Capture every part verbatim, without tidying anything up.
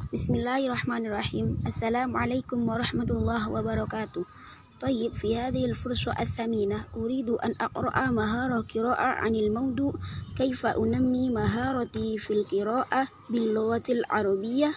Bismillahirrahmanirrahim. Assalamualaikum warahmatullahi wabarakatuh. طيب في هذه الفرصة الثمينة أريد أن أقرأ مهارة قراءة عن الموضوع كيف أنمي مهارتي في القراءة باللغة العربية.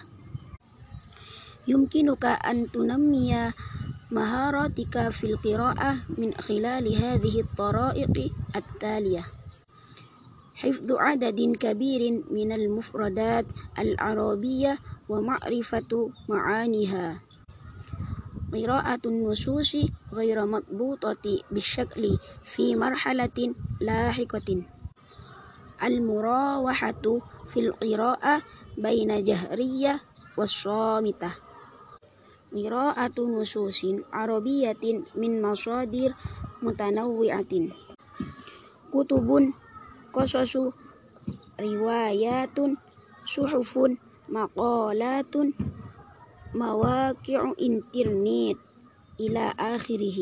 يمكنك أن تنمي مهاراتك في القراءة من خلال هذه الطرائق التالية: حفظ عدد كبير من المفردات العربية ومعرفة معانيها، قراءة النصوص غير مضبوطة بالشكل في مرحلة لاحقة، المراوحة في القراءة بين جهرية والصامتة، قراءة نصوص عربية من مصادر متنوعة، كتب، قصص، روايات، صحف، مقالات، مواقع إنترنت إلى آخره.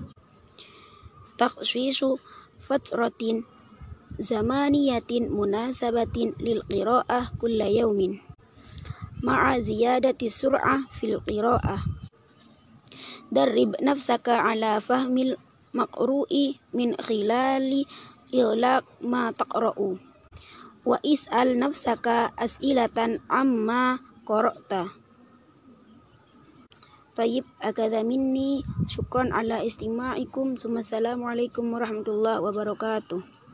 تخصيص فترة زمنية مناسبة للقراءة كل يوم مع زيادة السرعة في القراءة. درب نفسك على فهم المقروء من خلال إغلاق ما تقرأ، واسأل نفسك أسئلة عما قرأت. طيب هكذا مني، شكرا على استماعكم، ثم السلام عليكم ورحمة الله وبركاته.